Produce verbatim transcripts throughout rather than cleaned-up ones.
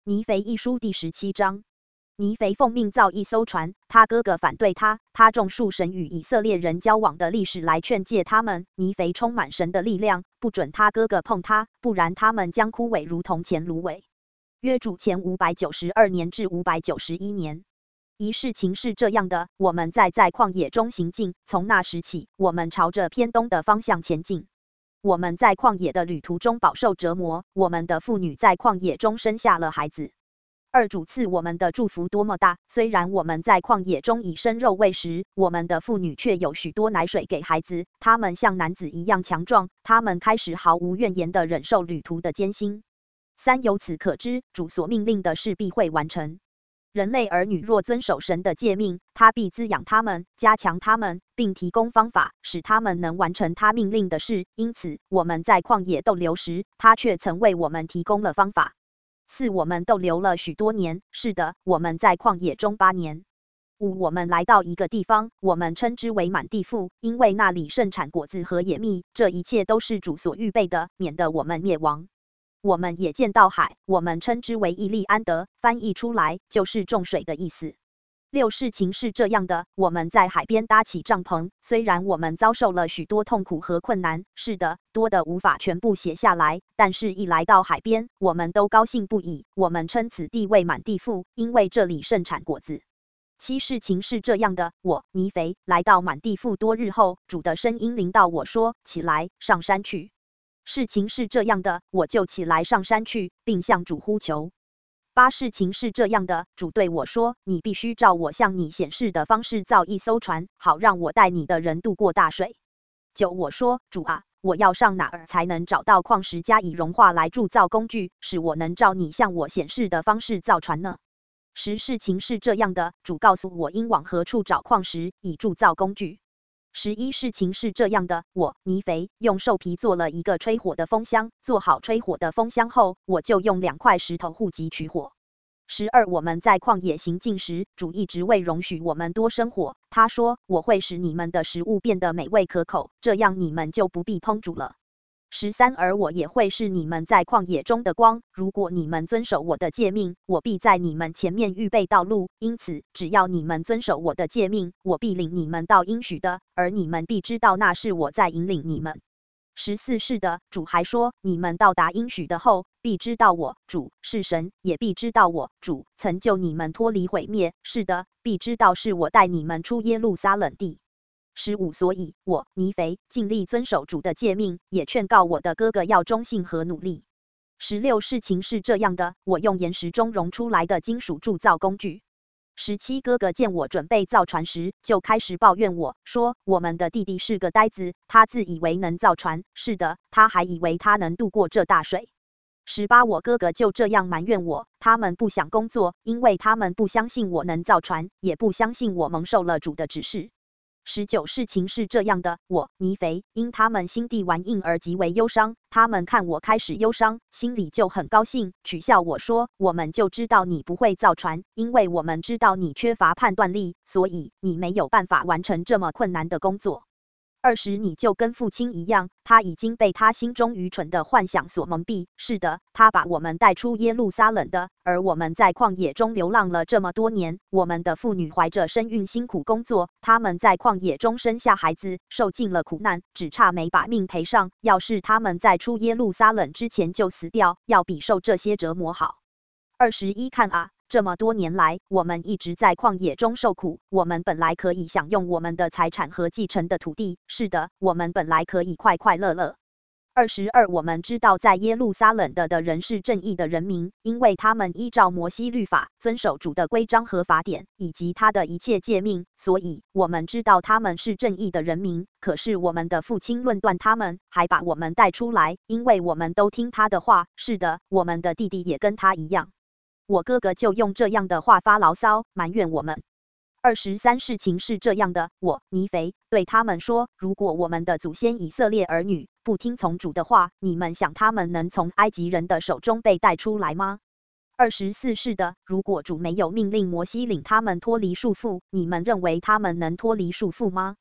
尼腓一书第十七章。尼腓奉命造一艘船，他哥哥反对他，他种树神与以色列人交往的历史来劝诫他们。尼腓充满神的力量，不准他哥哥碰他，不然他们将枯萎如同前芦苇。约主前五百九十二年至五百九十一年。一事情是这样的，我们在在旷野中行进，从那时起，我们朝着偏东的方向前进。我们在旷野的旅途中饱受折磨，我们的妇女在旷野中生下了孩子。二主赐我们的祝福多么大！虽然我们在旷野中以生肉喂食，我们的妇女却有许多奶水给孩子，他们像男子一样强壮，他们开始毫无怨言地忍受旅途的艰辛。三由此可知，主所命令的事必会完成。人类儿女若遵守神的诫命，他必滋养他们，加强他们，并提供方法，使他们能完成他命令的事。因此，我们在旷野逗留时，他却曾为我们提供了方法。四我们逗留了许多年，是的，我们在旷野中八年。五我们来到一个地方，我们称之为满地富，因为那里盛产果子和野蜜，这一切都是主所预备的，免得我们灭亡。我们也见到海，我们称之为伊利安德，翻译出来就是众水的意思。六事情是这样的，我们在海边搭起帐篷，虽然我们遭受了许多痛苦和困难，是的，多的无法全部写下来，但是一来到海边，我们都高兴不已，我们称此地为满地富，因为这里盛产果子。七事情是这样的，我尼腓来到满地富多日后，主的声音临到我说，起来，上山去。事情是这样的，我就起来上山去，并向主呼求。八事情是这样的，主对我说，你必须照我向你显示的方式造一艘船，好让我带你的人渡过大水。九我说，主啊，我要上哪儿才能找到矿石加以融化来铸造工具，使我能照你向我显示的方式造船呢？十事情是这样的，主告诉我应往何处找矿石，以铸造工具。十一事情是这样的，我尼腓用兽皮做了一个吹火的风箱，做好吹火的风箱后，我就用两块石头护脊取火。十二我们在旷野行进时，主一直未容许我们多生火，他说，我会使你们的食物变得美味可口，这样你们就不必烹煮了。十三而我也会是你们在旷野中的光，如果你们遵守我的诫命，我必在你们前面预备道路，因此只要你们遵守我的诫命，我必领你们到应许的，而你们必知道那是我在引领你们。十四是的，主还说，你们到达应许的后，必知道我主是神，也必知道我主曾救你们脱离毁灭，是的，必知道是我带你们出耶路撒冷地。十五所以我尼腓尽力遵守主的诫命，也劝告我的哥哥要忠信和努力。十六事情是这样的，我用岩石中融出来的金属铸造工具。十七哥哥见我准备造船时，就开始抱怨我说，我们的弟弟是个呆子，他自以为能造船，是的，他还以为他能渡过这大水。十八我哥哥就这样埋怨我，他们不想工作，因为他们不相信我能造船，也不相信我蒙受了主的指示。十九事情是这样的，我尼腓因他们心地顽硬而极为忧伤，他们看我开始忧伤，心里就很高兴，取笑我说，我们就知道你不会造船，因为我们知道你缺乏判断力，所以你没有办法完成这么困难的工作。二十你就跟父亲一样，他已经被他心中愚蠢的幻想所蒙蔽，是的，他把我们带出耶路撒冷的，而我们在旷野中流浪了这么多年，我们的妇女怀着身孕辛苦工作，他们在旷野中生下孩子，受尽了苦难，只差没把命赔上，要是他们在出耶路撒冷之前就死掉，要比受这些折磨好。二十一看啊，这么多年来，我们一直在旷野中受苦，我们本来可以享用我们的财产和继承的土地，是的，我们本来可以快快乐乐。二十二我们知道在耶路撒冷的的人是正义的人民，因为他们依照摩西律法，遵守主的规章和法典，以及他的一切诫命，所以我们知道他们是正义的人民。可是我们的父亲论断他们，还把我们带出来，因为我们都听他的话，是的，我们的弟弟也跟他一样。我哥哥就用这样的话发牢骚，埋怨我们。二十三事情是这样的，我尼腓对他们说，如果我们的祖先以色列儿女不听从主的话，你们想他们能从埃及人的手中被带出来吗？二十四是的，如果主没有命令摩西领他们脱离束缚，你们认为他们能脱离束缚吗？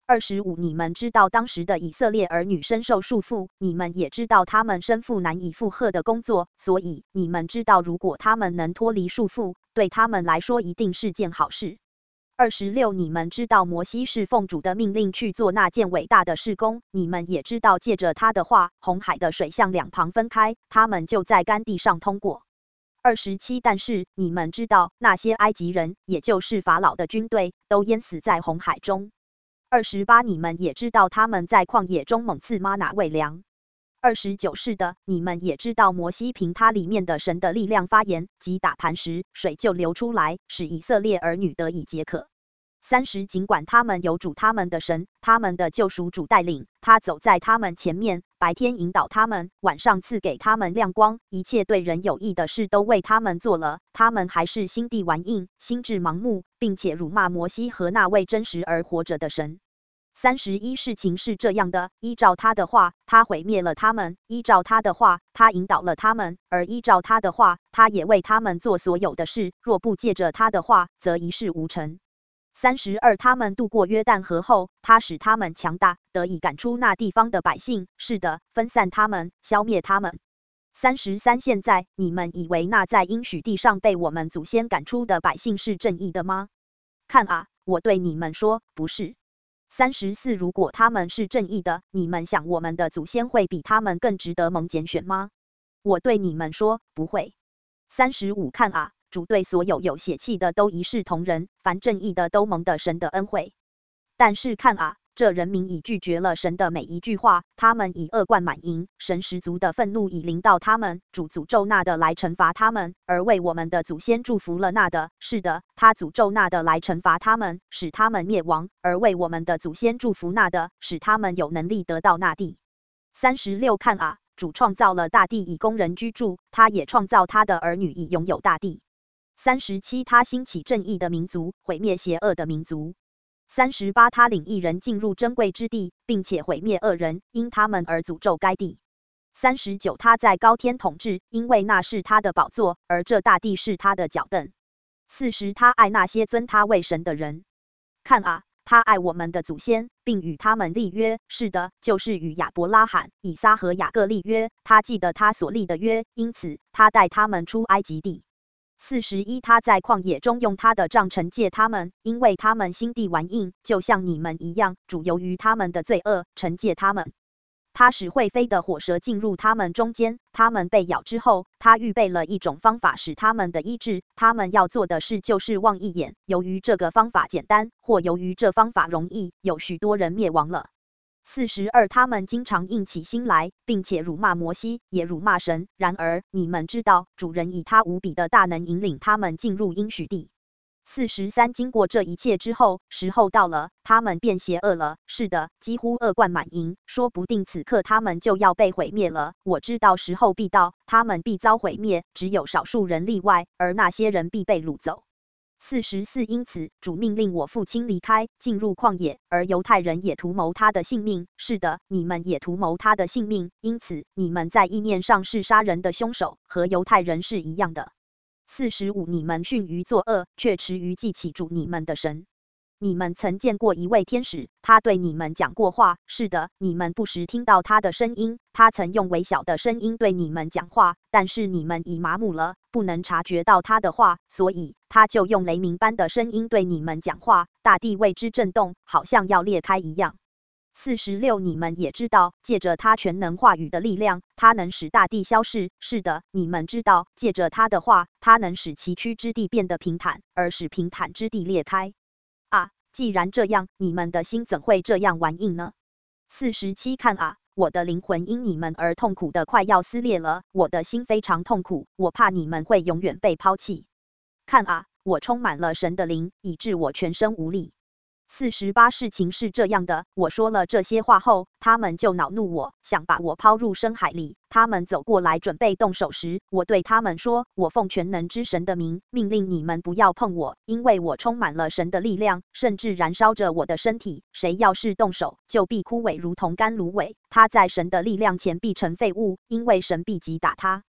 二十五你们知道当时的以色列儿女深受束缚，你们也知道他们身负难以负荷的工作，所以你们知道如果他们能脱离束缚，对他们来说一定是件好事。二十六你们知道摩西是奉主的命令去做那件伟大的事工，你们也知道借着他的话，红海的水向两旁分开，他们就在干地上通过。二十七但是你们知道那些埃及人，也就是法老的军队，都淹死在红海中。二十八你们也知道他们在旷野中猛刺吗哪喂粮。二十九是的，你们也知道摩西凭他里面的神的力量发言，即打磐石，水就流出来，使以色列儿女得以解渴。三十尽管他们有主他们的神，他们的救赎主带领，他走在他们前面，白天引导他们，晚上赐给他们亮光，一切对人有益的事都为他们做了，他们还是心地顽硬，心智盲目，并且辱骂摩西和那位真实而活着的神。三十一事情是这样的，依照他的话，他毁灭了他们；依照他的话，他引导了他们；而依照他的话，他也为他们做所有的事。若不借着他的话，则一事无成。三十二他们渡过约旦河后，他使他们强大，得以赶出那地方的百姓，是的，分散他们，消灭他们。三十三现在你们以为那在应许地上被我们祖先赶出的百姓是正义的吗？看啊，我对你们说，不是。三十四如果他们是正义的，你们想我们的祖先会比他们更值得蒙拣选吗？我对你们说，不会。三十五看啊，主对所有有血气的都一视同仁，凡正义的都蒙得神的恩惠。但是看啊，这人民已拒绝了神的每一句话，他们以恶贯满盈，神十足的愤怒已临到他们，主诅咒那的来惩罚他们，而为我们的祖先祝福了那的，是的，他诅咒那的来惩罚他们，使他们灭亡，而为我们的祖先祝福那的，使他们有能力得到那地。三十六看啊，主创造了大地以供人居住，他也创造他的儿女以拥有大地。三十七他兴起正义的民族，毁灭邪恶的民族。三十八他领一人进入珍贵之地，并且毁灭恶人，因他们而诅咒该地。三十九他在高天统治，因为那是他的宝座，而这大地是他的脚凳。四十他爱那些尊他为神的人。看啊，他爱我们的祖先，并与他们立约，是的，就是与亚伯拉罕、以撒和雅各立约，他记得他所立的约，因此他带他们出埃及地。四十一他在旷野中用他的杖惩戒他们，因为他们心地顽硬，就像你们一样，主由于他们的罪恶惩戒他们。他使会飞的火蛇进入他们中间，他们被咬之后，他预备了一种方法使他们的医治，他们要做的事就是望一眼，由于这个方法简单，或由于这方法容易，有许多人灭亡了。四十二他们经常硬起心来，并且辱骂摩西，也辱骂神。然而你们知道，主人以他无比的大能引领他们进入应许地。四十三经过这一切之后，时候到了，他们变邪恶了，是的，几乎恶贯满盈，说不定此刻他们就要被毁灭了。我知道时候必到，他们必遭毁灭，只有少数人例外，而那些人必被掳走。四十四因此主命令我父亲离开，进入旷野，而犹太人也图谋他的性命。是的，你们也图谋他的性命，因此你们在意念上是杀人的凶手，和犹太人是一样的。四十五你们训于作恶，却迟于记起主你们的神。你们曾见过一位天使，他对你们讲过话，是的，你们不时听到他的声音，他曾用微小的声音对你们讲话，但是你们已麻木了，不能察觉到他的话，所以他就用雷鸣般的声音对你们讲话，大地为之震动，好像要裂开一样。四十六你们也知道，借着他全能话语的力量，他能使大地消逝。是的，你们知道，借着他的话，他能使崎岖之地变得平坦，而使平坦之地裂开。啊，既然这样，你们的心怎会这样顽硬呢？四十七看啊，我的灵魂因你们而痛苦的快要撕裂了，我的心非常痛苦，我怕你们会永远被抛弃。看啊，我充满了神的灵，以致我全身无力。四十八事情是这样的，我说了这些话后，他们就恼怒我，想把我抛入深海里。他们走过来准备动手时，我对他们说，我奉全能之神的名，命令你们不要碰我，因为我充满了神的力量，甚至燃烧着我的身体。谁要是动手，就必枯萎如同干芦苇，他在神的力量前必成废物，因为神必击打他。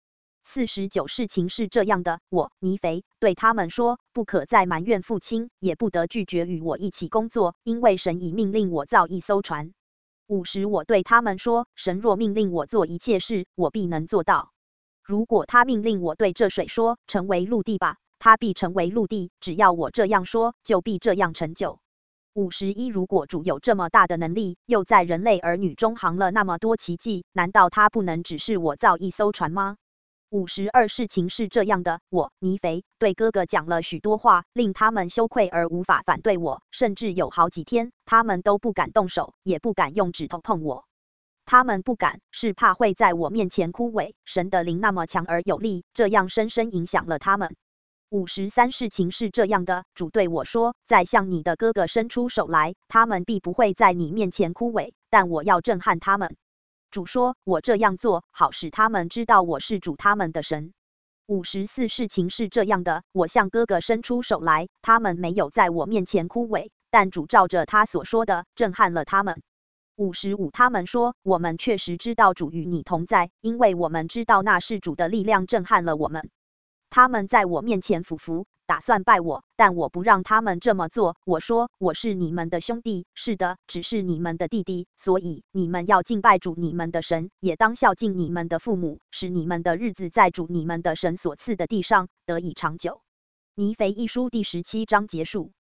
四十九事情是这样的，我尼腓对他们说，不可再埋怨父亲，也不得拒绝与我一起工作，因为神已命令我造一艘船。五十我对他们说，神若命令我做一切事，我必能做到。如果他命令我对这水说，成为陆地吧，它必成为陆地，只要我这样说，就必这样成就。五十一如果主有这么大的能力，又在人类儿女中行了那么多奇迹，难道他不能指示我造一艘船吗？五十二事情是这样的，我尼腓对哥哥讲了许多话，令他们羞愧而无法反对我，甚至有好几天，他们都不敢动手，也不敢用指头碰我。他们不敢，是怕会在我面前枯萎。神的灵那么强而有力，这样深深影响了他们。五十三事情是这样的，主对我说，再向你的哥哥伸出手来，他们必不会在你面前枯萎，但我要震撼他们。主说，我这样做，好使他们知道我是主他们的神。五十四事情是这样的，我向哥哥伸出手来，他们没有在我面前枯萎，但主照着他所说的，震撼了他们。五十五他们说，我们确实知道主与你同在，因为我们知道那是主的力量震撼了我们。他们在我面前俯伏，打算拜我，但我不让他们这么做。我说，我是你们的兄弟，是的，只是你们的弟弟，所以你们要敬拜主你们的神，也当孝敬你们的父母，使你们的日子在主你们的神所赐的地上得以长久。尼腓一书第十七章结束。